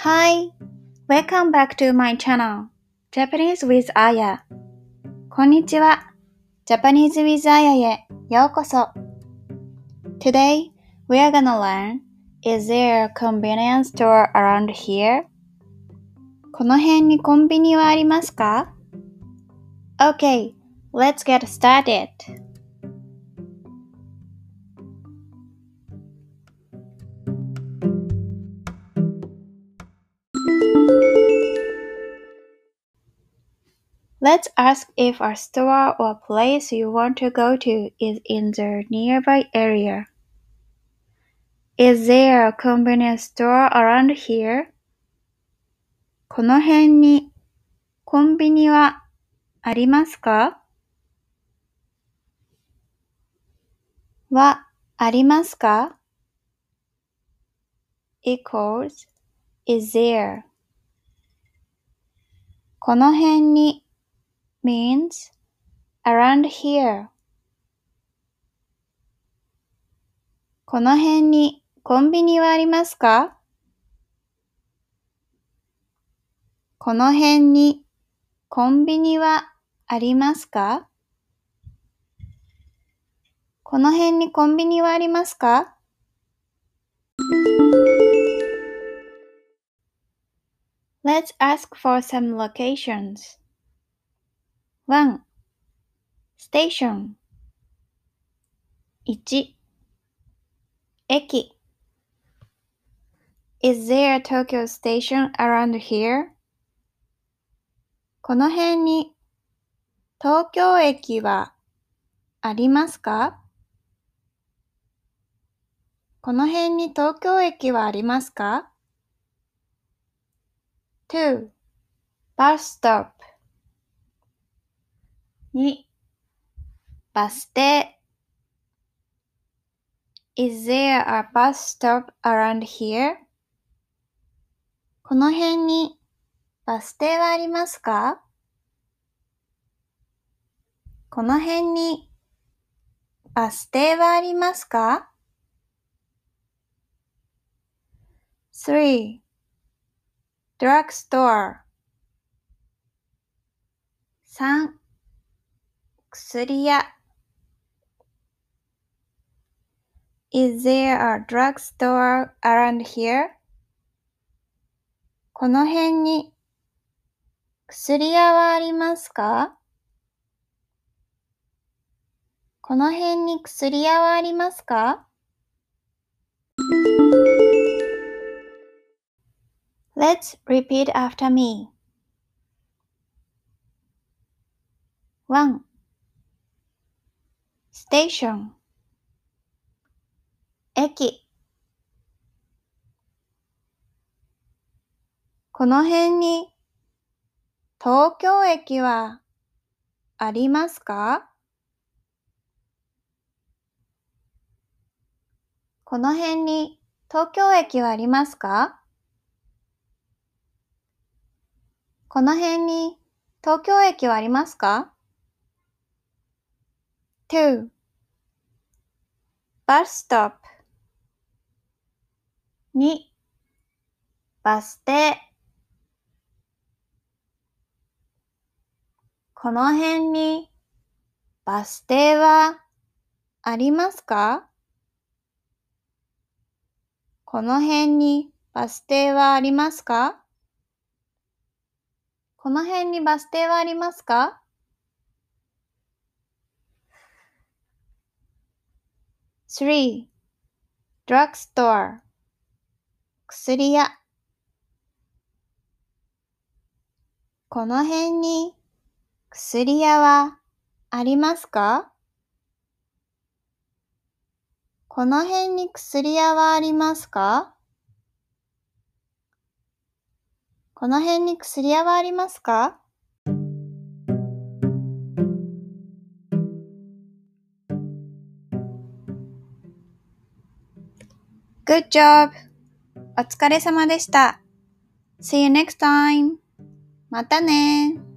Hi, welcome back to my channel, Japanese with Aya. こんにちは、Japanese with Aya へようこそ。Today, we are gonna learn, is there a convenience store around here? この辺にコンビニはありますか？ Okay, let's get started. Let's ask if a store or place you want to go to is in the nearby area. Is there a convenience store around here? この辺にコンビニはありますか？はありますか？ equals is there. この辺に means around here. この辺にコンビニはありますか？この辺にコンビニはありますか？この辺にコンビニはありますか？ Let's ask for some locations. 1. Station 1. 駅 Is there a Tokyo station around here? この辺に東京駅はありますか？この辺に東京駅はありますか？ 2. Bus stop 2. バス停 Is there a bus stop around here? この辺にバス停はありますか？この辺にバス停はありますか？ 3. Drugstore 3. 薬屋 Is there a drugstore around here? この辺に薬屋はありますか？この辺に薬屋はありますか？ Let's repeat after me. 1. Station 駅この辺に東京駅はありますか？この辺に東京駅はありますか？この辺に東京駅はありますか？ 2. Bus stop 2. バス停この辺にバス停はありますか？この辺にバス停はありますか？この辺にバス停はありますか？ 3. Drugstore 薬屋この辺に薬屋はありますか？この辺に薬屋はありますか？この辺に薬屋はありますか？ Good job! お疲れ様でした。See you next time! またね